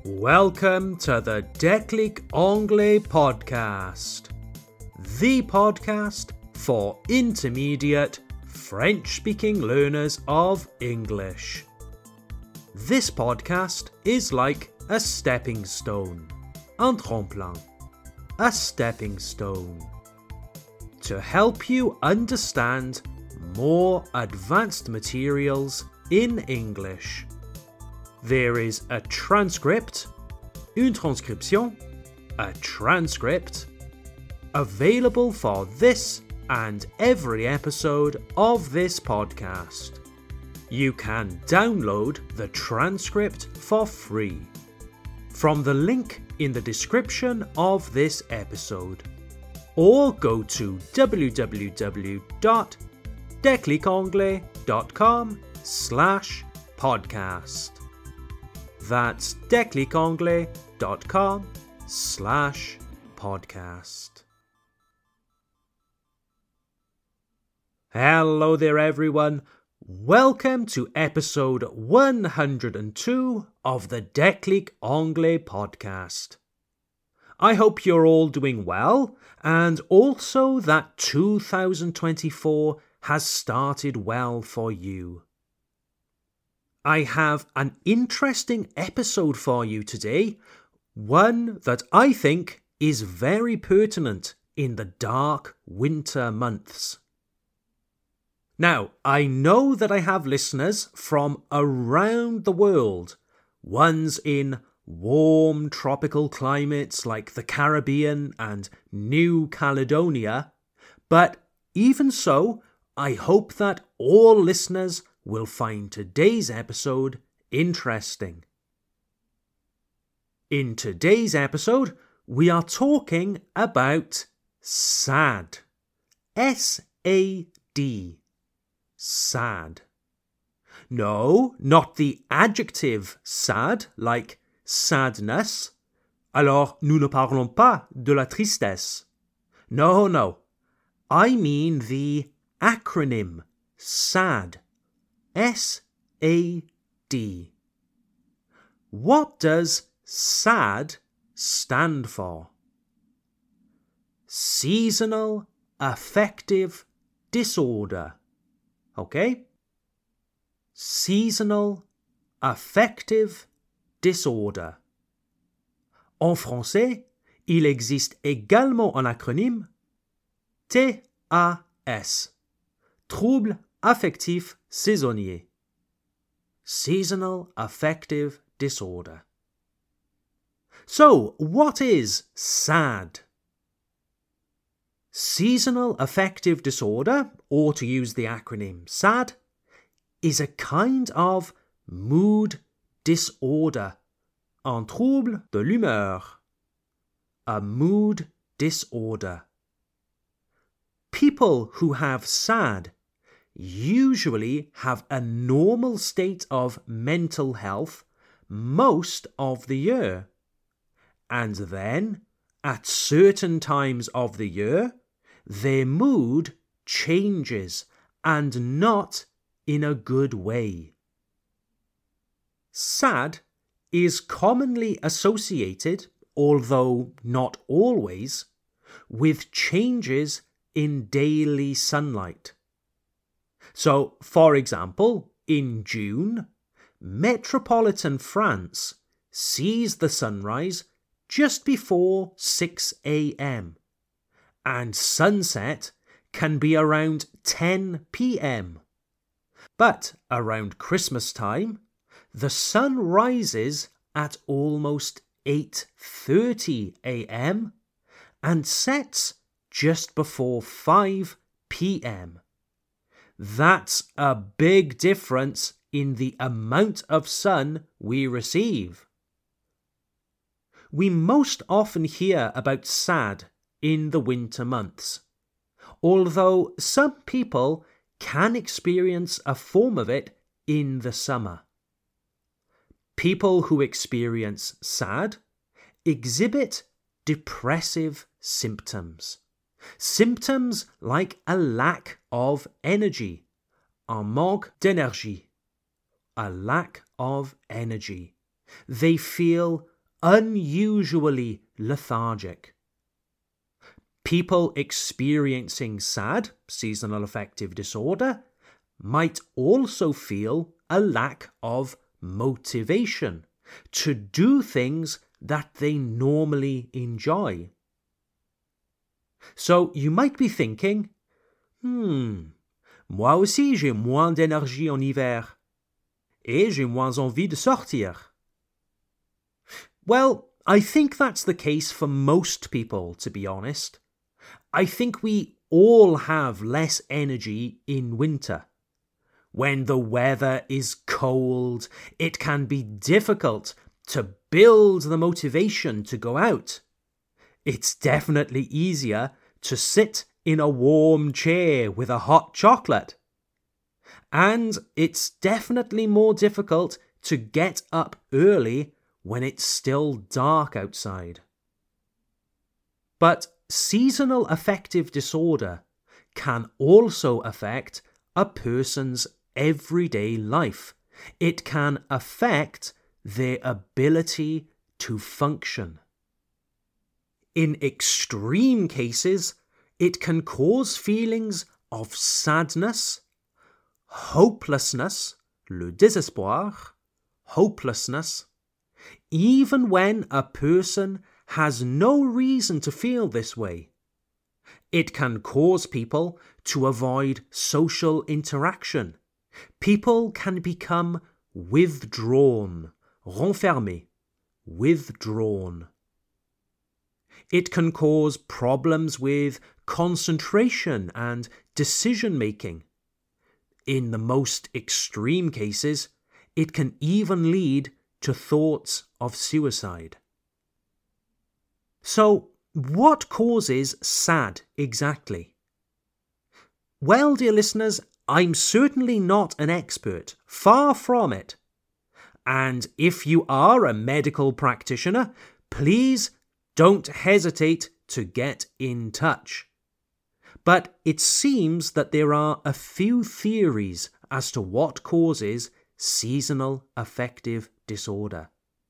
Welcome to the Déclic Anglais podcast, the podcast for intermediate French-speaking learners of English. This podcast is like a stepping stone, un tremplin, a stepping stone, to help you understand more advanced materials in English. There is a transcript, une transcription, a transcript, available for this and every episode of this podcast. You can download the transcript for free from the link in the description of this episode, or go to www.declicanglais.com/podcast. That's declicanglais.com/podcast. Hello there, everyone. Welcome to episode 102 of the Déclic Anglais podcast. I hope you're all doing well, and also that 2024 has started well for you. I have an interesting episode for you today, one that I think is very pertinent in the dark winter months. Now, I know that I have listeners from around the world, ones in warm tropical climates like the Caribbean and New Caledonia, but even so, I hope that all listeners will find today's episode interesting. In today's episode, we are talking about sad. S-A-D. Sad. No, not the adjective sad, like sadness. Alors, nous ne parlons pas de la tristesse. No. I mean the acronym SAD. S-A-D. What does SAD stand for? Seasonal Affective Disorder. Okay? Seasonal Affective Disorder. En français, il existe également un acronyme TAS. Trouble affectif saisonnier. Seasonal Affective Disorder. So, what is SAD? Seasonal Affective Disorder, or to use the acronym SAD, is a kind of mood disorder, un trouble de l'humeur, a mood disorder. People who have SAD usually have a normal state of mental health most of the year, and then, at certain times of the year, their mood changes, and not in a good way. SAD is commonly associated, although not always, with changes in daily sunlight. So, for example, in June, metropolitan France sees the sunrise just before 6 a.m. and sunset can be around 10 p.m. But around Christmas time, the sun rises at almost 8:30 a.m. and sets just before 5 p.m. That's a big difference in the amount of sun we receive. We most often hear about SAD in the winter months, although some people can experience a form of it in the summer. People who experience SAD exhibit depressive symptoms. Symptoms like a lack of energy, un manque d'énergie, a lack of energy. They feel unusually lethargic. People experiencing SAD, seasonal affective disorder, might also feel a lack of motivation to do things that they normally enjoy. So you might be thinking, moi aussi j'ai moins d'énergie en hiver, et j'ai moins envie de sortir. Well, I think that's the case for most people, to be honest. I think we all have less energy in winter. When the weather is cold, it can be difficult to build the motivation to go out. It's definitely easier to sit in a warm chair with a hot chocolate. And it's definitely more difficult to get up early when it's still dark outside. But seasonal affective disorder can also affect a person's everyday life. It can affect their ability to function. In extreme cases, it can cause feelings of sadness, hopelessness, le désespoir, hopelessness, even when a person has no reason to feel this way. It can cause people to avoid social interaction. People can become withdrawn, renfermé, withdrawn. It can cause problems with concentration and decision-making. In the most extreme cases, it can even lead to thoughts of suicide. So, what causes SAD exactly? Well, dear listeners, I'm certainly not an expert, far from it. And if you are a medical practitioner, please don't hesitate to get in touch. But it seems that there are a few theories as to what causes seasonal affective disorder.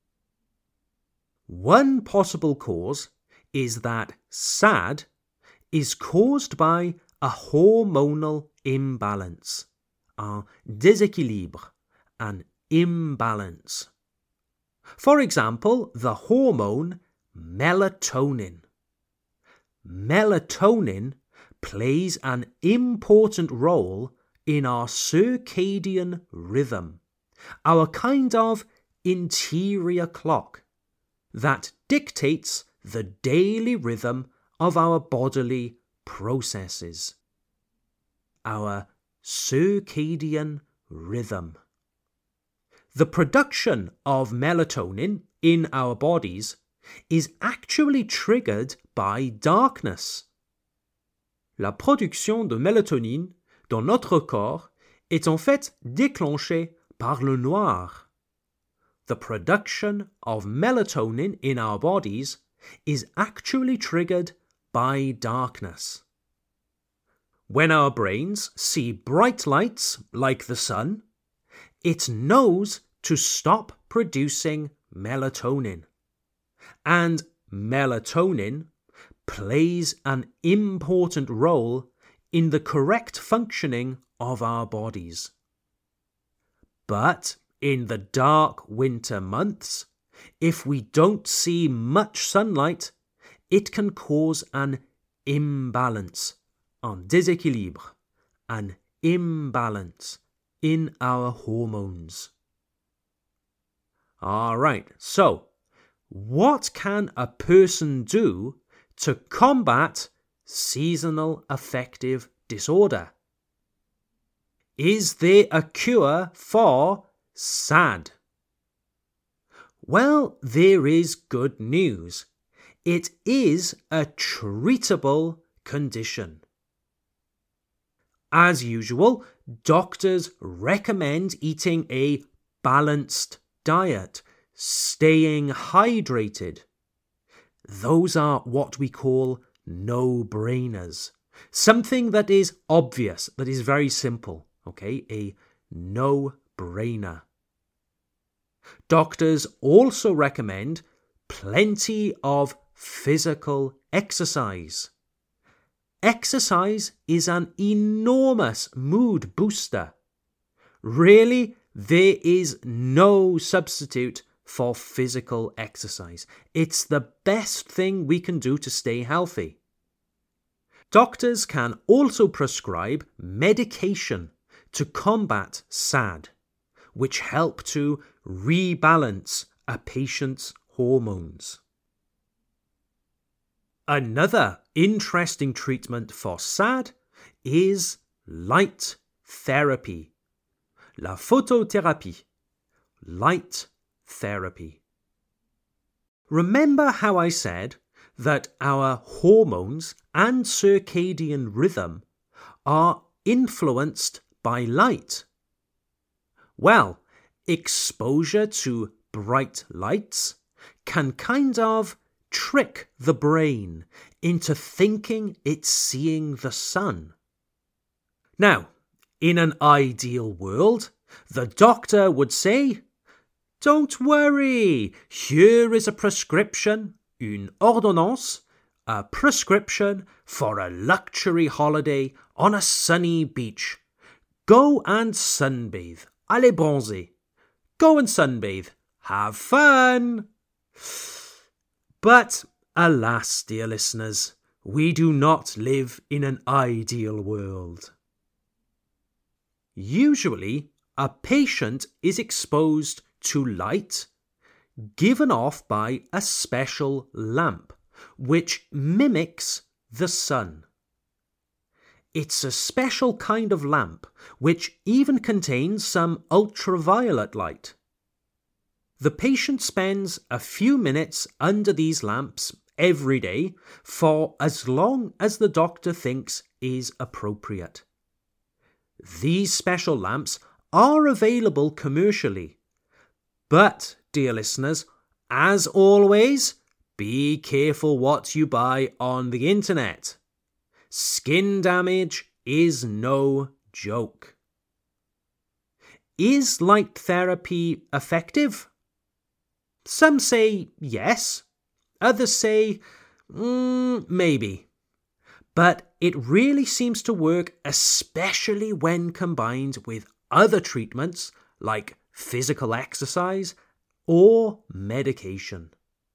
One possible cause is that SAD is caused by a hormonal imbalance, un déséquilibre, an imbalance. For example, the hormone melatonin. Melatonin plays an important role in our circadian rhythm, our kind of interior clock that dictates the daily rhythm of our bodily processes. Our circadian rhythm. The production of melatonin in our bodies is actually triggered by darkness. La production de mélatonine dans notre corps est en fait déclenchée par le noir. The production of melatonin in our bodies is actually triggered by darkness. When our brains see bright lights like the sun, it knows to stop producing melatonin. And melatonin plays an important role in the correct functioning of our bodies. But in the dark winter months, if we don't see much sunlight, it can cause an imbalance, un déséquilibre, an imbalance in our hormones. Alright, so what can a person do to combat seasonal affective disorder? Is there a cure for SAD? Well, there is good news. It is a treatable condition. As usual, doctors recommend eating a balanced diet, staying hydrated. Those are what we call no-brainers. Something that is obvious, that is very simple, okay? A no-brainer. Doctors also recommend plenty of physical exercise. Exercise is an enormous mood booster. Really, there is no substitute for physical exercise. It's the best thing we can do to stay healthy. Doctors can also prescribe medication to combat SAD, which help to rebalance a patient's hormones. Another interesting treatment for SAD is light therapy. La photothérapie. Light therapy. Remember how I said that our hormones and circadian rhythm are influenced by light? Well, exposure to bright lights can kind of trick the brain into thinking it's seeing the sun. Now, in an ideal world, the doctor would say, "Don't worry, here is a prescription, une ordonnance, a prescription for a luxury holiday on a sunny beach. Go and sunbathe. Allez bronzer. Go and sunbathe. Have fun." But alas, dear listeners, we do not live in an ideal world. Usually, a patient is exposed to light given off by a special lamp, which mimics the sun. It's a special kind of lamp, which even contains some ultraviolet light. The patient spends a few minutes under these lamps every day for as long as the doctor thinks is appropriate. These special lamps are available commercially. But, dear listeners, as always, be careful what you buy on the internet. Skin damage is no joke. Is light therapy effective? Some say yes, others say maybe. But it really seems to work, especially when combined with other treatments like physical exercise or medication.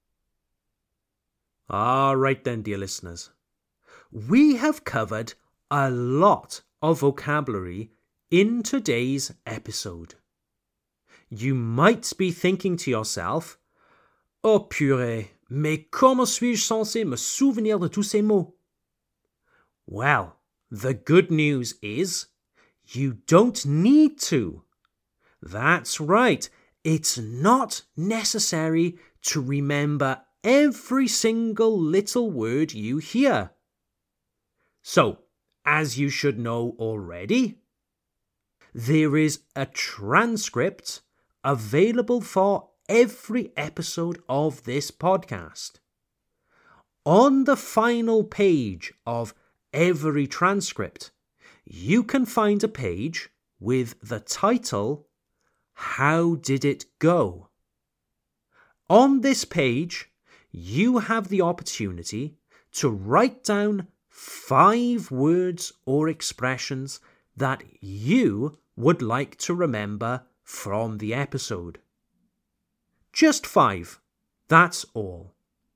All right then, dear listeners. We have covered a lot of vocabulary in today's episode. You might be thinking to yourself, "Oh purée, mais comment suis-je censé me souvenir de tous ces mots?" Well, the good news is you don't need to. That's right, it's not necessary to remember every single little word you hear. So, as you should know already, there is a transcript available for every episode of this podcast. On the final page of every transcript, you can find a page with the title, "How Did It Go?" On this page, you have the opportunity to write down 5 words or expressions that you would like to remember from the episode. Just 5, that's all.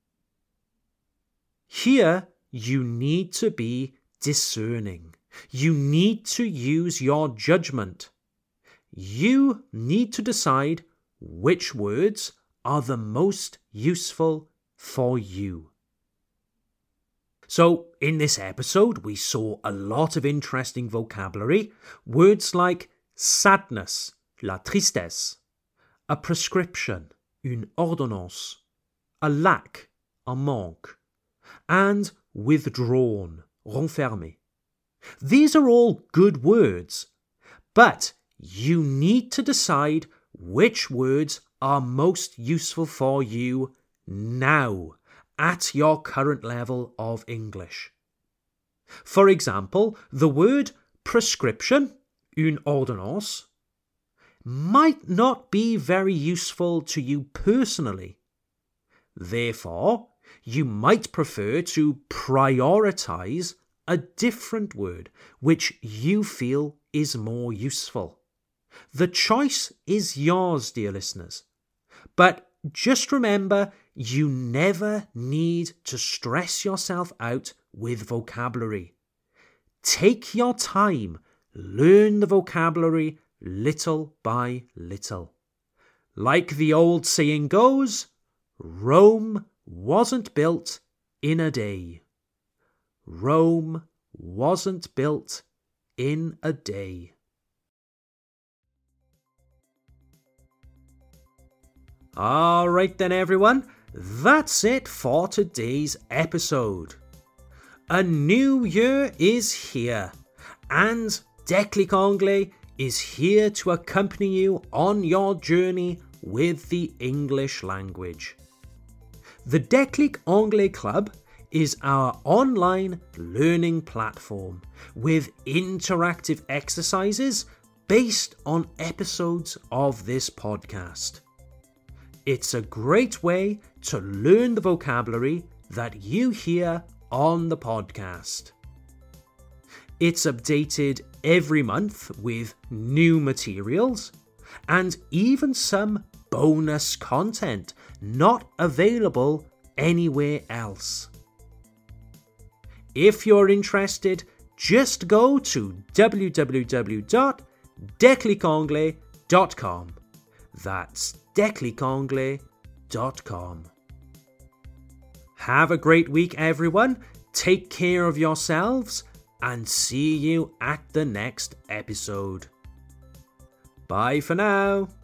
Here, you need to be discerning. You need to use your judgment. You need to decide which words are the most useful for you. So, in this episode, we saw a lot of interesting vocabulary. Words like sadness, la tristesse, a prescription, une ordonnance, a lac, un manque, and withdrawn, renfermé. These are all good words, but you need to decide which words are most useful for you now, at your current level of English. For example, the word prescription, une ordonnance, might not be very useful to you personally. Therefore, you might prefer to prioritize a different word which you feel is more useful. The choice is yours, dear listeners. But just remember, you never need to stress yourself out with vocabulary. Take your time, learn the vocabulary little by little. Like the old saying goes, Rome wasn't built in a day. Rome wasn't built in a day. All right then, everyone. That's it for today's episode. A new year is here, and Déclic Anglais is here to accompany you on your journey with the English language. The Déclic Anglais Club is our online learning platform with interactive exercises based on episodes of this podcast. It's a great way to learn the vocabulary that you hear on the podcast. It's updated every month with new materials and even some bonus content not available anywhere else. If you're interested, just go to www.declicanglais.com. That's declicanglais.com. Have a great week, everyone. Take care of yourselves and see you at the next episode. Bye for now.